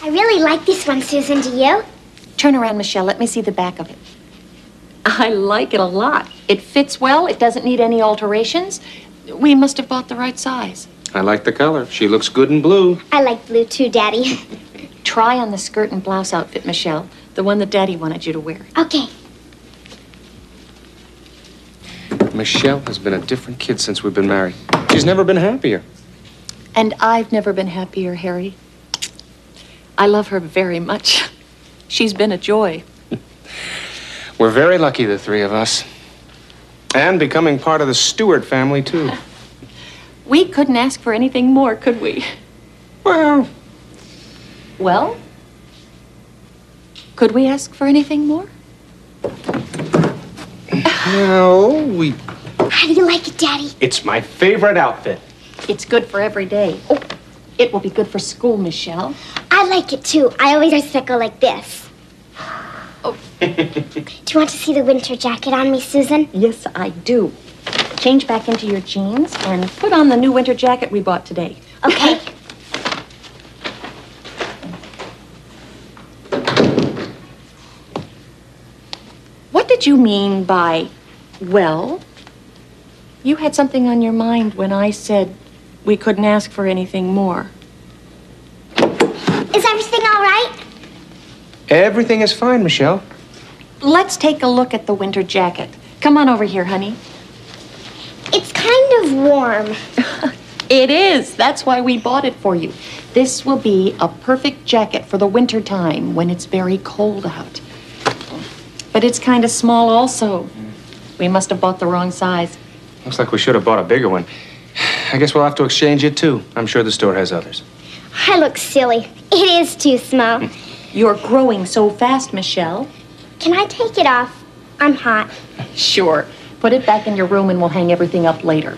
I really like this one, Susan. Do you? Turn around, Michelle. Let me see the back of it. I like it a lot. It fits well. It doesn't need any alterations. We must have bought the right size. I like the color. She looks good in blue. I like blue too, Daddy. Try on the skirt and blouse outfit, Michelle. The one that Daddy wanted you to wear. Okay. Michelle has been a different kid since we've been married. She's never been happier. And I've never been happier, Harry. I love her very much. She's been a joy. We're very lucky, the three of us. And becoming part of the Stewart family, too. We couldn't ask for anything more, could we? Well, could we ask for anything more? no, we... How do you like it, Daddy? It's my favorite outfit. It's good for every day. Oh, it will be good for school, Michelle. I like it too. I always wear a like this. Oh. Do you want to see the winter jacket on me, Susan? Yes, I do. Change back into your jeans and put on the new winter jacket we bought today. Okay. What did you mean by, well? You had something on your mind when I said we couldn't ask for anything more. Is everything all right? Everything is fine, Michelle. Let's take a look at the winter jacket. Come on over here, honey. It's kind of warm. It is. That's why we bought it for you. This will be a perfect jacket for the winter time when it's very cold out. But it's kind of small also. We must have bought the wrong size. Looks like we should have bought a bigger one. I guess we'll have to exchange it, too. I'm sure the store has others. I look silly. It is too small. You're growing so fast, Michelle. Can I take it off? I'm hot. Sure. Put it back in your room and we'll hang everything up later.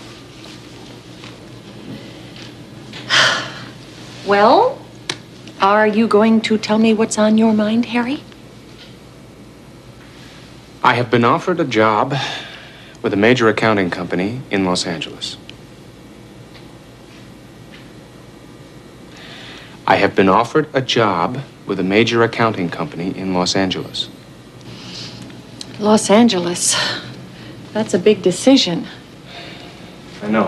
Well, are you going to tell me what's on your mind, Harry? I have been offered a job with a major accounting company in Los Angeles. I have been offered a job with a major accounting company in Los Angeles. Los Angeles. That's a big decision. I know.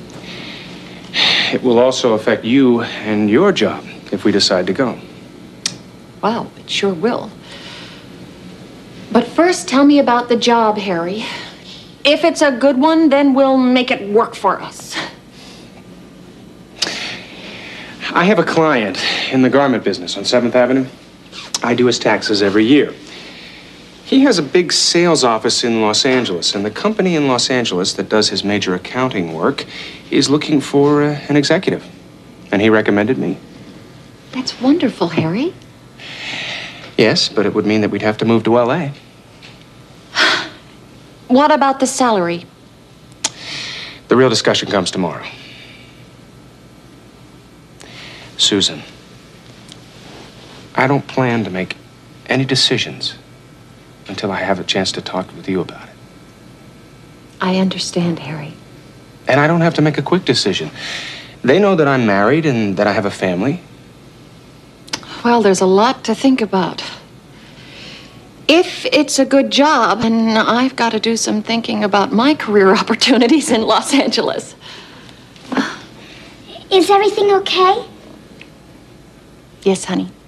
It will also affect you and your job if we decide to go. Wow, it sure will. But first, tell me about the job, Harry. If it's a good one, then we'll make it work for us. I have a client in the garment business on 7th Avenue. I do his taxes every year. He has a big sales office in Los Angeles, and the company in Los Angeles that does his major accounting work is looking for an executive. And he recommended me. That's wonderful, Harry. Yes, but it would mean that we'd have to move to L.A. What about the salary? The real discussion comes tomorrow. Susan, I don't plan to make any decisions until I have a chance to talk with you about it. I understand, Harry. And I don't have to make a quick decision. They know that I'm married and that I have a family. Well, there's a lot to think about. If it's a good job, then I've got to do some thinking about my career opportunities in Los Angeles. Is everything okay? Yes, honey.